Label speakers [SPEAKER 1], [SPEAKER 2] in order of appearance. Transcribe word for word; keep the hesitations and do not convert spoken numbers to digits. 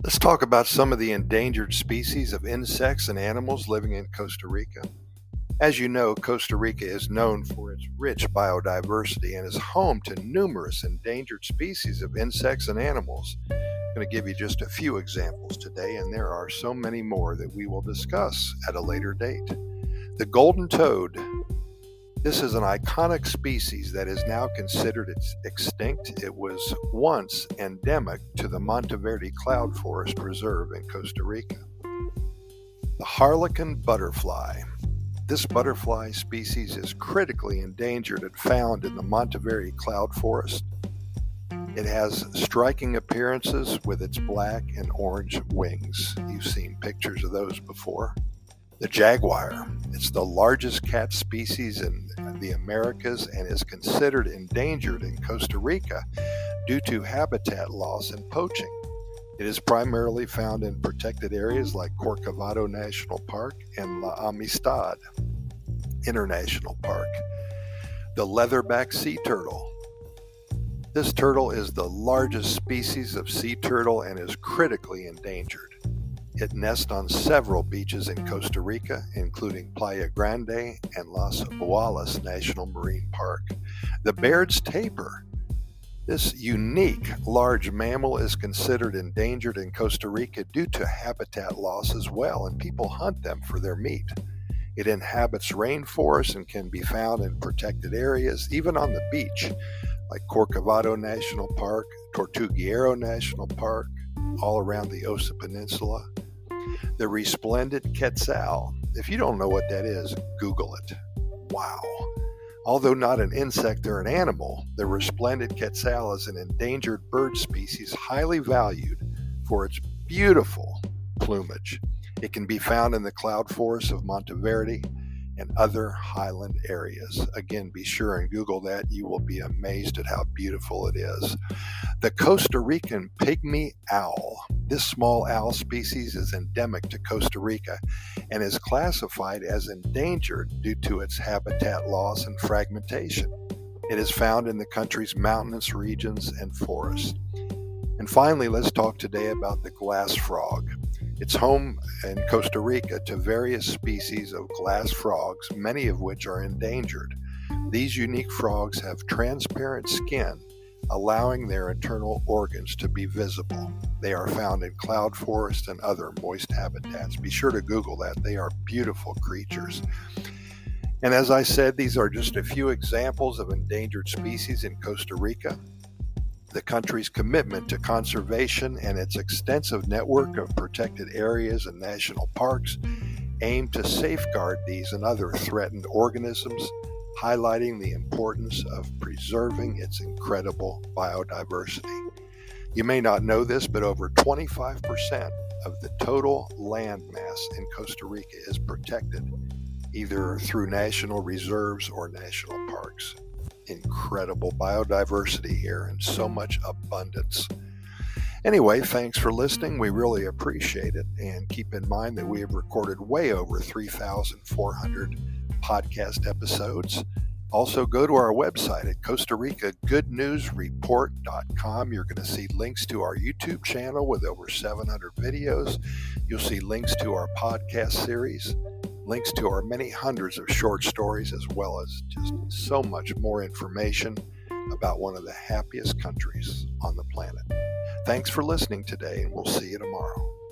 [SPEAKER 1] Let's talk about some of the endangered species of insects and animals living in Costa Rica. As you know, Costa Rica is known for its rich biodiversity and is home to numerous endangered species of insects and animals. I'm going to give you just a few examples today, and there are so many more that we will discuss at a later date. The golden toad. This is an iconic species that is now considered extinct. It was once endemic to the Monteverde Cloud Forest Reserve in Costa Rica. The harlequin butterfly. This butterfly species is critically endangered and found in the Monteverde Cloud Forest. It has striking appearances with its black and orange wings. You've seen pictures of those before. The jaguar. It's the largest cat species in the Americas and is considered endangered in Costa Rica due to habitat loss and poaching. It is primarily found in protected areas like Corcovado National Park and La Amistad International Park. The leatherback sea turtle. This turtle is the largest species of sea turtle and is critically endangered. It nests on several beaches in Costa Rica, including Playa Grande and Las Boalas National Marine Park. The Baird's tapir. This unique large mammal is considered endangered in Costa Rica due to habitat loss as well, and people hunt them for their meat. It inhabits rainforests and can be found in protected areas, even on the beach, like Corcovado National Park, Tortuguero National Park, all around the Osa Peninsula. The resplendent quetzal. If you don't know what that is, Google it. Wow. Although not an insect or an animal, the resplendent quetzal is an endangered bird species highly valued for its beautiful plumage. It can be found in the cloud forests of Monteverde and other highland areas. Again, be sure and Google that. You will be amazed at how beautiful it is. The Costa Rican pygmy owl. This small owl species is endemic to Costa Rica and is classified as endangered due to its habitat loss and fragmentation. It is found in the country's mountainous regions and forests. And finally, let's talk today about the glass frog. It's home in Costa Rica to various species of glass frogs, many of which are endangered. These unique frogs have transparent skin, allowing their internal organs to be visible. They are found in cloud forests and other moist habitats. Be sure to Google that. They are beautiful creatures. And as I said, these are just a few examples of endangered species in Costa Rica. The country's commitment to conservation and its extensive network of protected areas and national parks aim to safeguard these and other threatened organisms, highlighting the importance of preserving its incredible biodiversity. You may not know this, but over twenty-five percent of the total land mass in Costa Rica is protected, either through national reserves or national parks. Incredible biodiversity here and so much abundance. Anyway, thanks for listening. We really appreciate it. And keep in mind that we have recorded way over three thousand four hundred podcast episodes. Also, go to our website at Costa Rica Good News Report dot com. You're going to see links to our YouTube channel with over seven hundred videos. You'll see links to our podcast series, links to our many hundreds of short stories, as well as just so much more information about one of the happiest countries on the planet. Thanks for listening today, and we'll see you tomorrow.